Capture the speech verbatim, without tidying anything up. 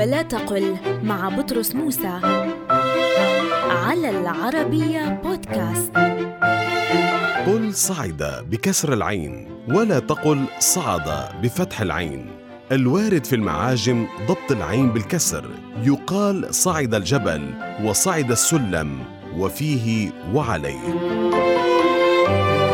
ولا تقل مع بطرس موسى على العربية بودكاست. قل صعد بكسر العين ولا تقل صعد بفتح العين. الوارد في المعاجم ضبط العين بالكسر، يقال صعد الجبل وصعد السلم وفيه وعليه.